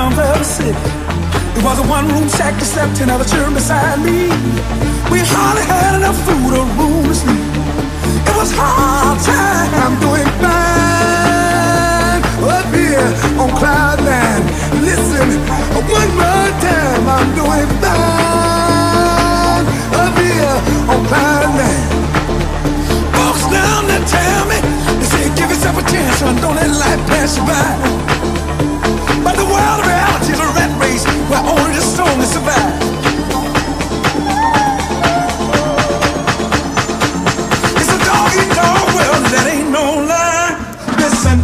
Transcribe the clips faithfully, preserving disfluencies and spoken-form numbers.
slums of the city. It was a one-room shack that slept ten other children beside me. We hardly had enough food or room to sleep. It was hard time doing fine up here on cloud nine. Listen, one more time, I'm doing fine up here on cloud nine. Folks down there tell me, they say give yourself a chance, son, don't let life pass you by. But the world of reality is a rat race where only the strongest survive. It's a dog-eat-dog world, that ain't no lie. Listen.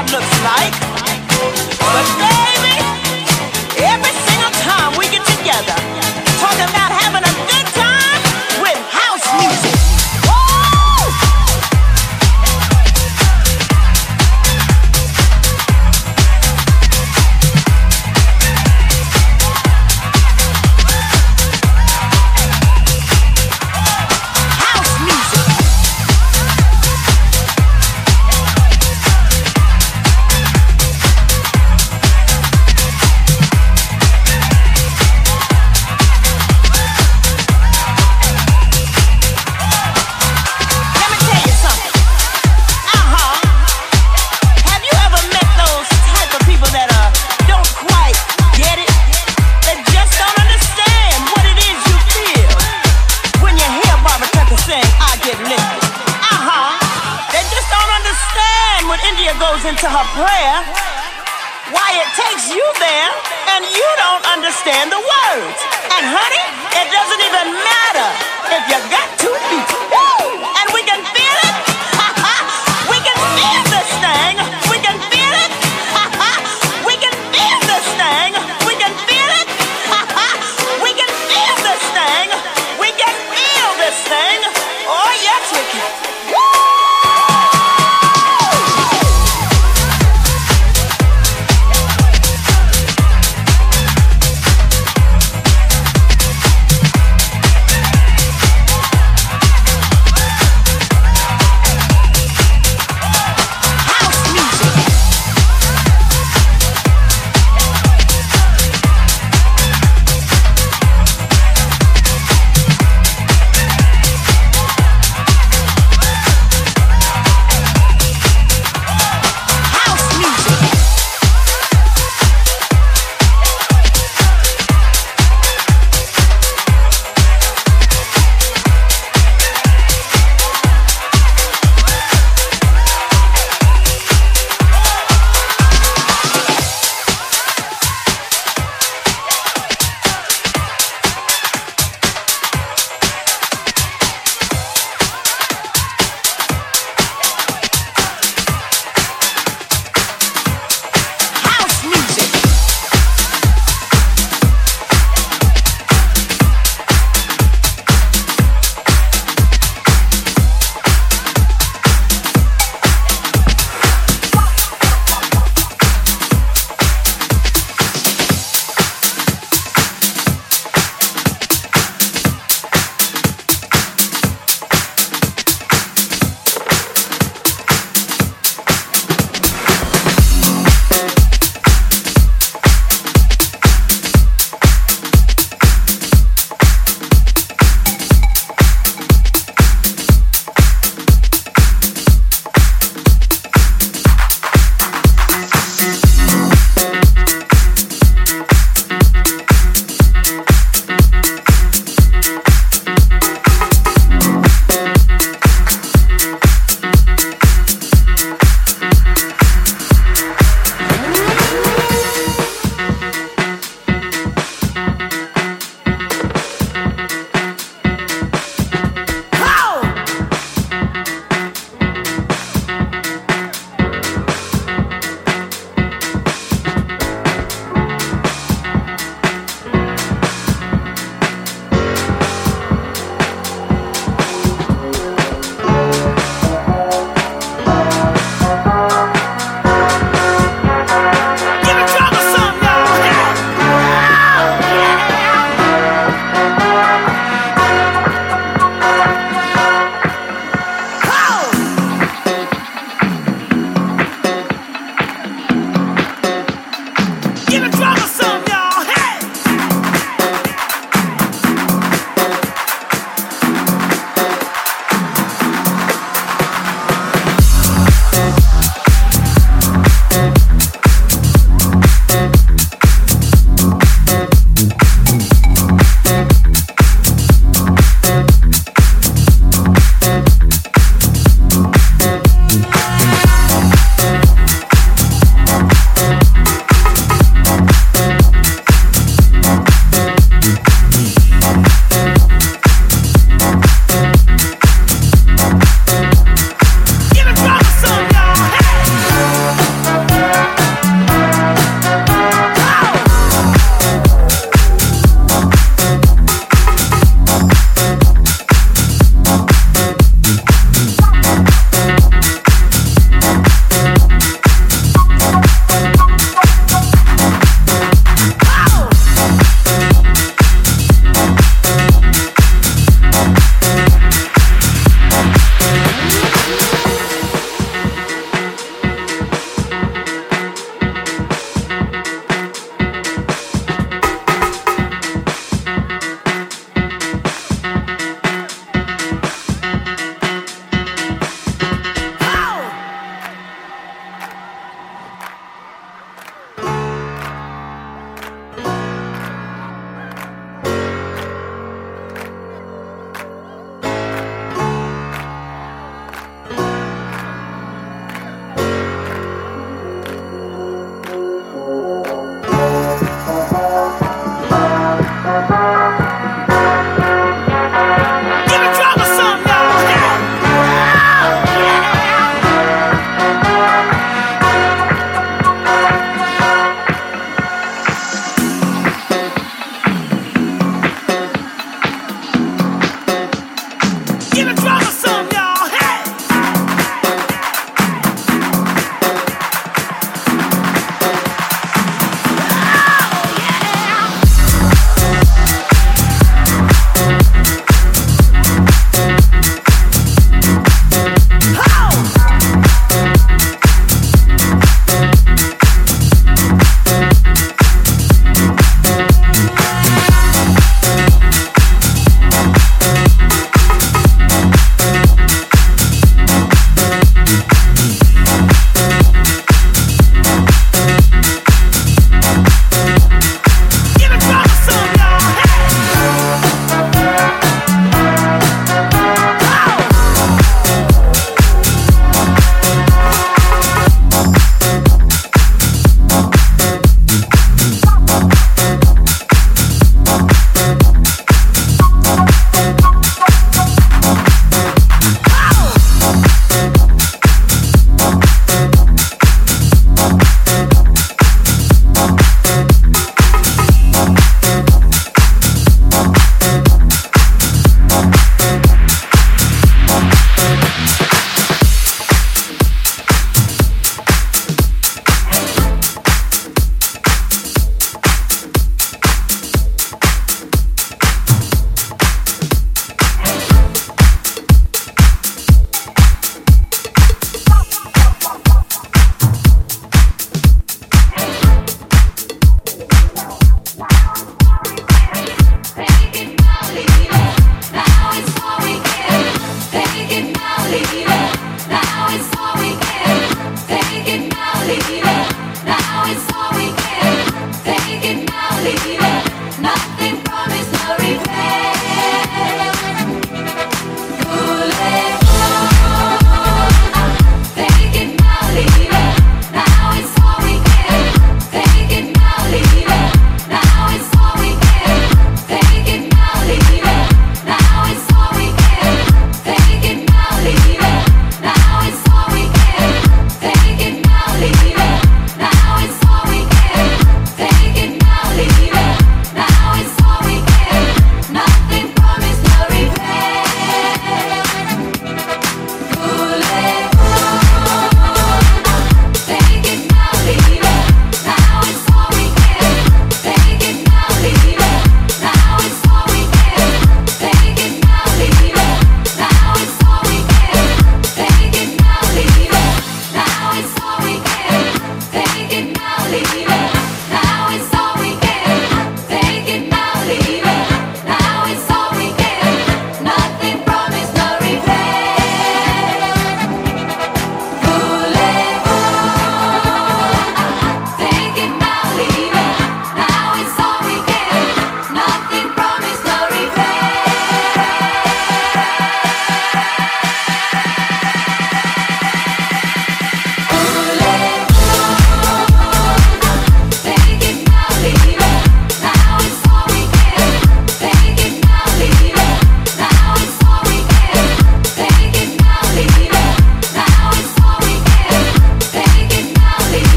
life looks like. But baby, every single time we get together, talking about having a good time with house music. Into her prayer, why it takes you there and you don't understand the words. And honey, it doesn't even matter if you got two feet. Woo! And we can feel it. We can feel this thing. We can feel it. We can feel this thing. We can feel it. We can feel this thing. We can feel this thing. Oh yes, we can. Woo!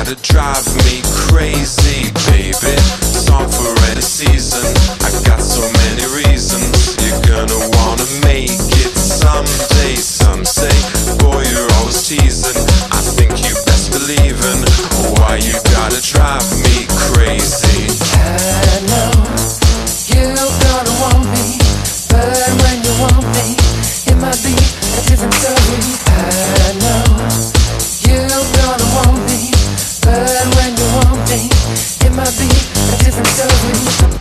gotta drive me crazy, baby. Song for any season. I got so many reasons. You're gonna wanna make it someday. Some say, boy, you're always teasing. I think you best believe in why you gotta drive me crazy. I know you're gonna want me, but when you want me, it might be a different story. I know you're gonna want me, but when you want me, it might be a different story.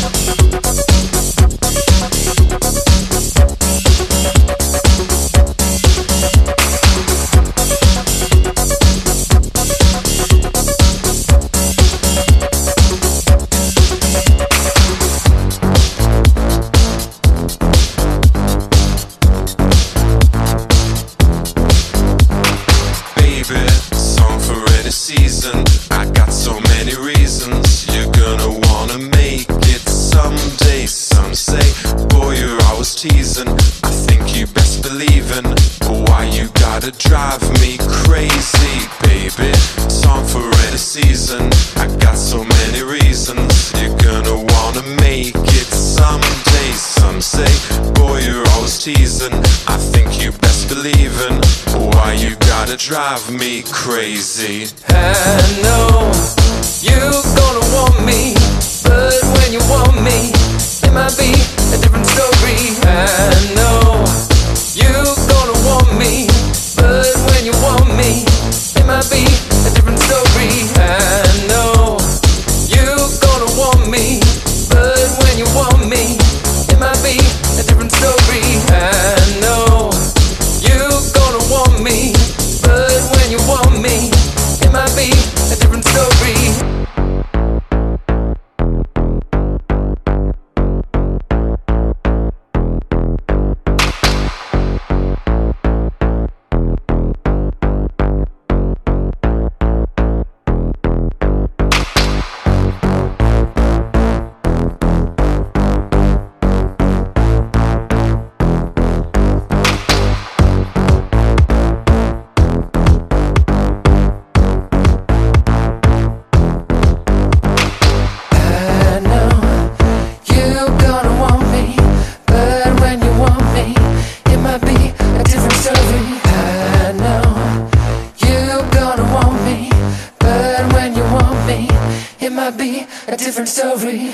Season. I got so many reasons. You're gonna wanna make it someday. Some say, boy, you're always teasing. I think you best believe in why you gotta drive me crazy, baby. Song for any season. I got so many reasons. You're gonna wanna make it someday. Some say, boy, you're always teasing. I think you best believe in why you gotta drive me crazy. I know you're gonna want me, but when you want me, it might be a different story. I know you're gonna want me, but when you want me, it might be a different story. I know you're gonna want me, but when you want me, it might be a different story. I know you're gonna want me, but when you want me, it might be a different story. Be a different story.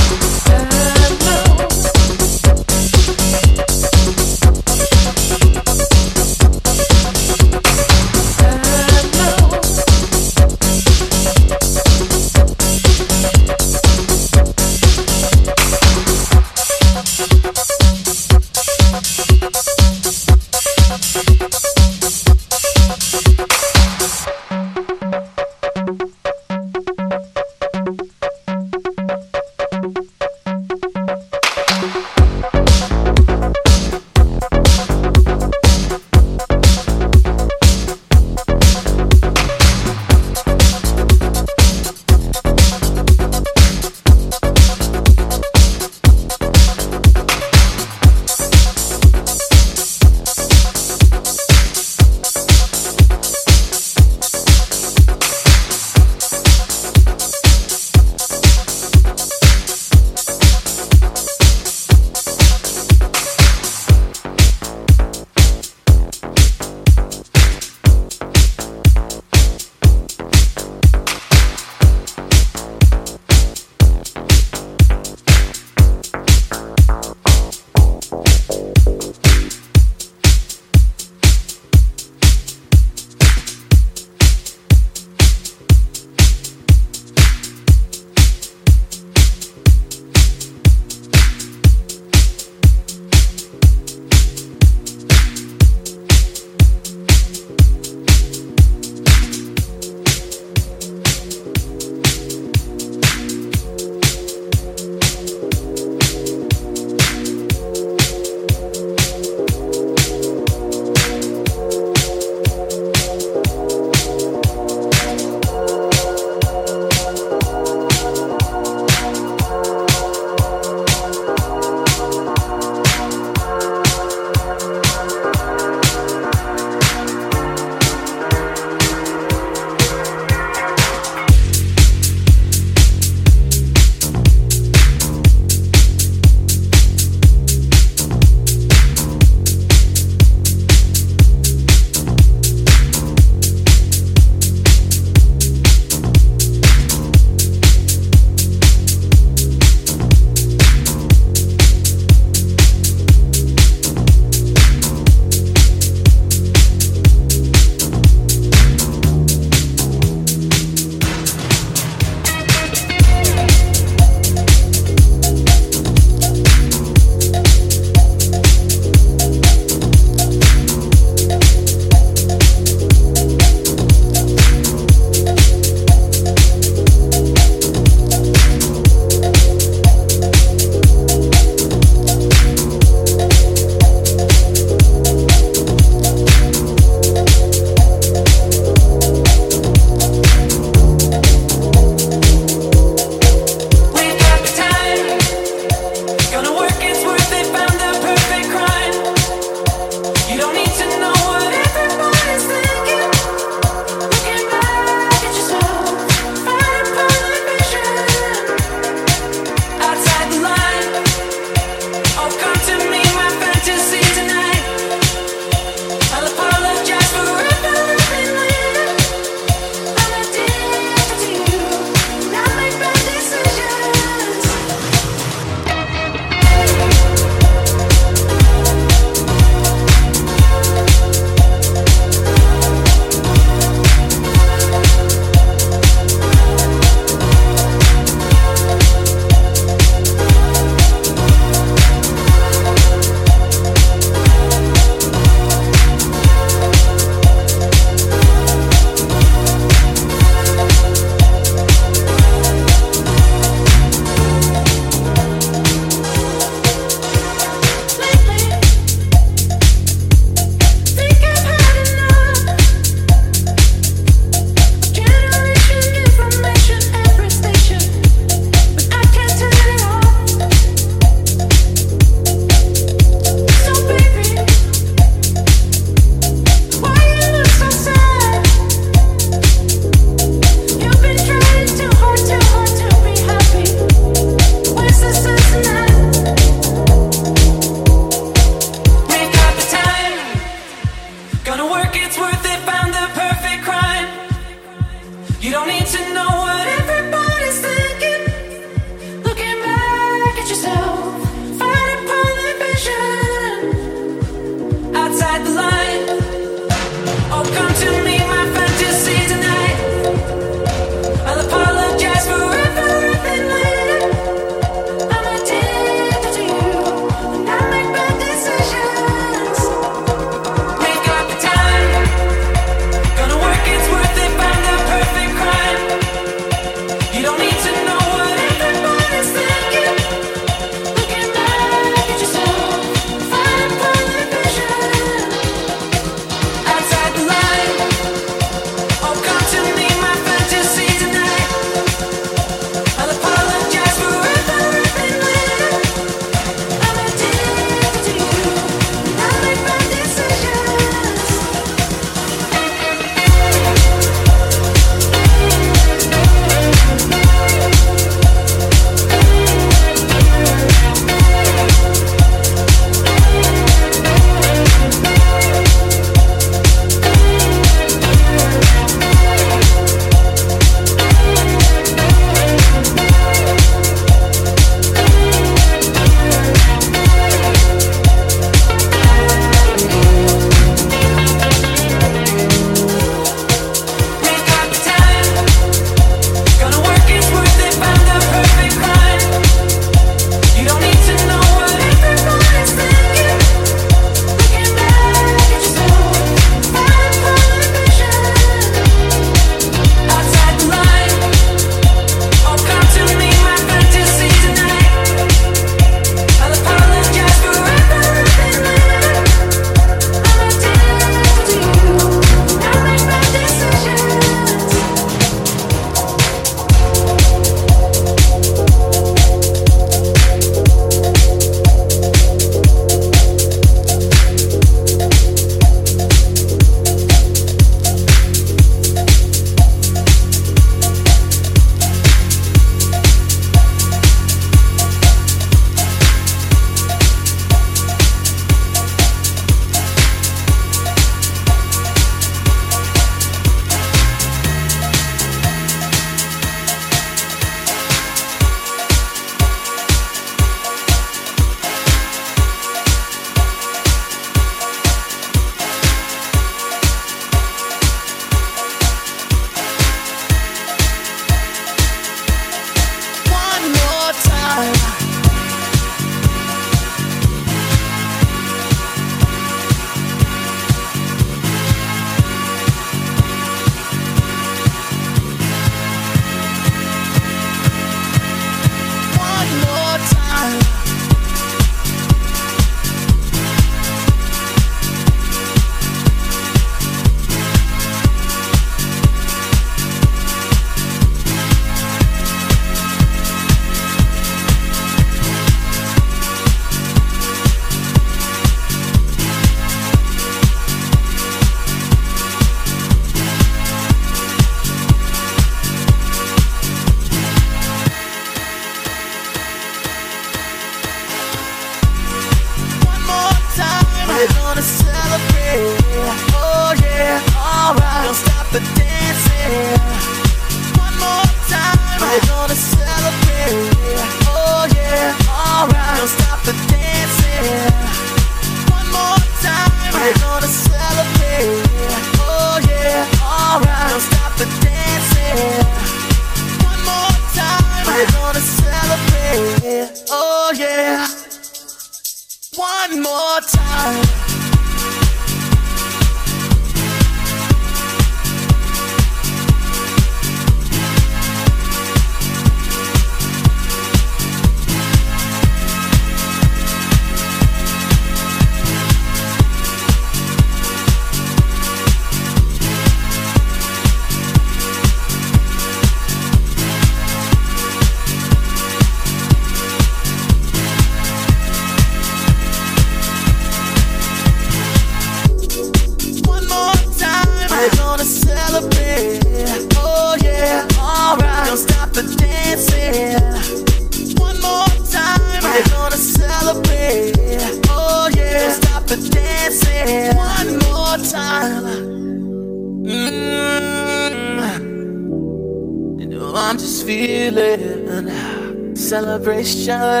Celebration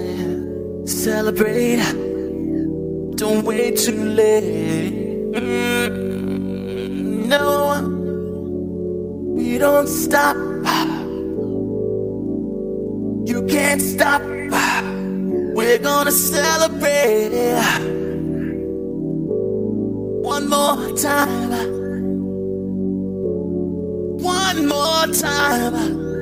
tonight. Celebrate. Don't wait too late. Mm. know we don't stop. You can't stop. We're gonna celebrate one more time. One more time.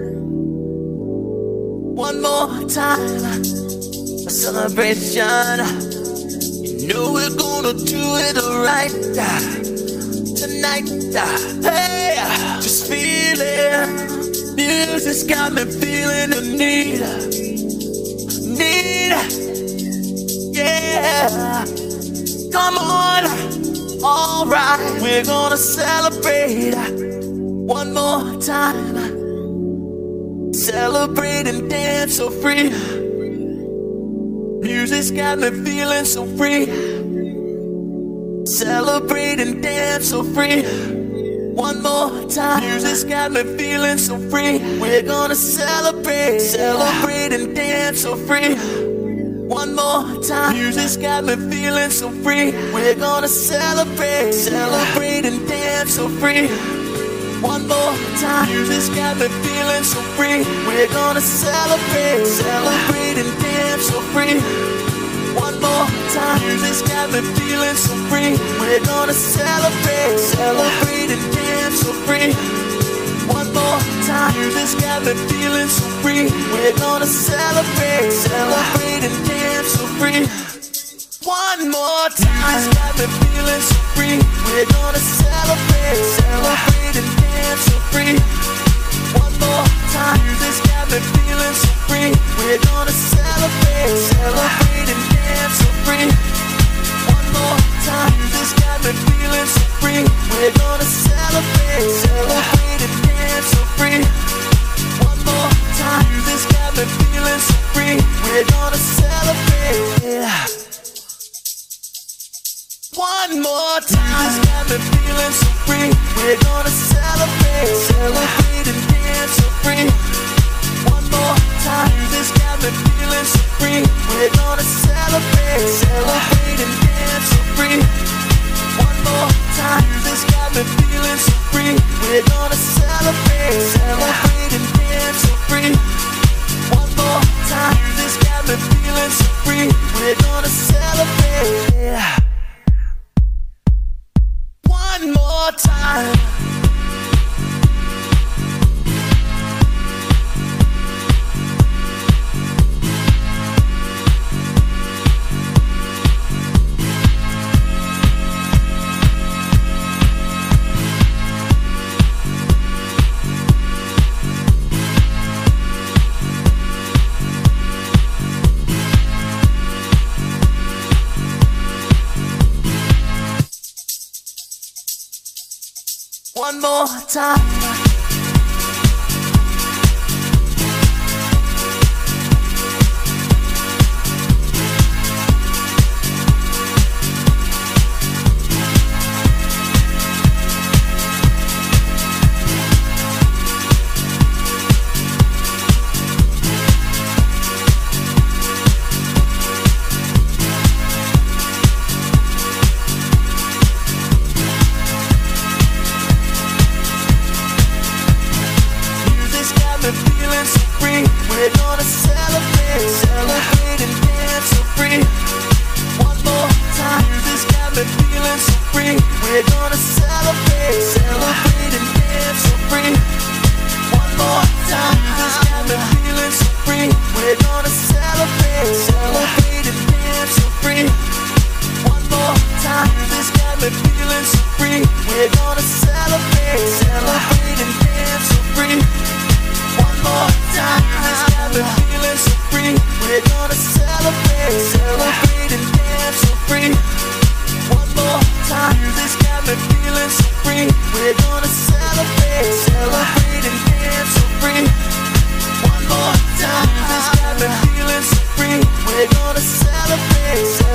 One more time. A celebration. You know we're gonna do it right tonight. Hey, just feel it. Music's got me feeling the need. Need. Yeah. Come on. Alright. We're gonna celebrate one more time. Celebrate and dance so free. Music's got me feeling so free. Celebrate and dance so free. One more time. Music's got me feeling so free. We're gonna celebrate. Celebrate and dance so free. One more time. Music's got me feeling so free. We're gonna celebrate. Celebrate and dance so free. One more time. Music's got me feeling so free. We're gonna celebrate. Celebrate and dance so free. One more time. Music's got me feeling so free. We're gonna celebrate. Celebrate and dance so free. One more time. Music's got me feeling so free. We're gonna celebrate. Celebrate and dance so free. One more time. Music's got me feeling so free. We're gonna celebrate. Celebrate and dance so free. One more time. Music's got me feeling so free. We're gonna celebrate. Celebrate and dance so free. One more time. Music's got me feeling so free. We're gonna celebrate. Celebrate and dance so free. One more time. Music's got me feeling so free. We're gonna celebrate. One more time. Music's got me feeling so free. We're gonna celebrate. Celebrate and dance so free. One more time. Music's got me feeling so free. We're gonna celebrate. Celebrate and dance so free. One more time. Music's got me feeling so free. We're gonna celebrate. Celebrate and dance so free. One more time. Music's got me feeling so free. We're gonna celebrate. One more time. One more time. We're gonna celebrate, celebrate and dance so free. One more time. Music's got me feeling so free. We're gonna celebrate, celebrate and dance so free. One more time. Music's got me feeling so free. We're gonna celebrate, celebrate and dance so free. One more time. Music's got me feeling so free. We're gonna celebrate, celebrate and dance so free. One more time. Music's got me feeling so free. We're gonna celebrate, celebrate and dance so free. One more time. Music's got me feeling so free. We're gonna celebrate, celebrate and dance so free. One more time. Music's got me feeling so free. We're gonna celebrate.